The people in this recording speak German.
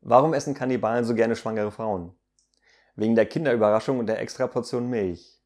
Warum essen Kannibalen so gerne schwangere Frauen? Wegen der Kinderüberraschung und der Extraportion Milch.